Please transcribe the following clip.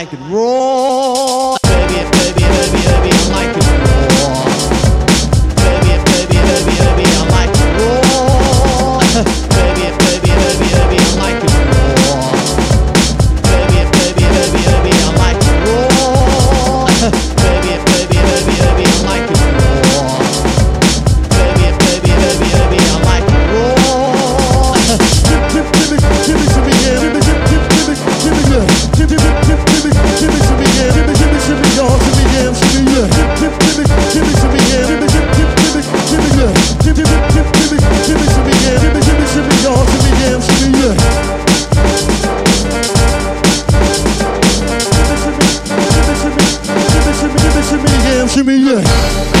like it raw. Baby, baby, baby, baby, I like it raw. Baby, baby, baby, baby, I like it raw. Baby, baby, baby, baby, I like it raw. Baby, baby, baby, baby, I like it raw. Baby, baby, baby, baby, I like it raw. Baby, baby, baby, baby, I like it raw. Give me some yeah. Give me some yeah. Give me some yeah. Give me some y'all. Give me yeah. Give me yeah. Give me some yeah. Give me yeah. Give me some yeah. Give me some y'all. Give me yeah. Give me yeah. Give me some yeah.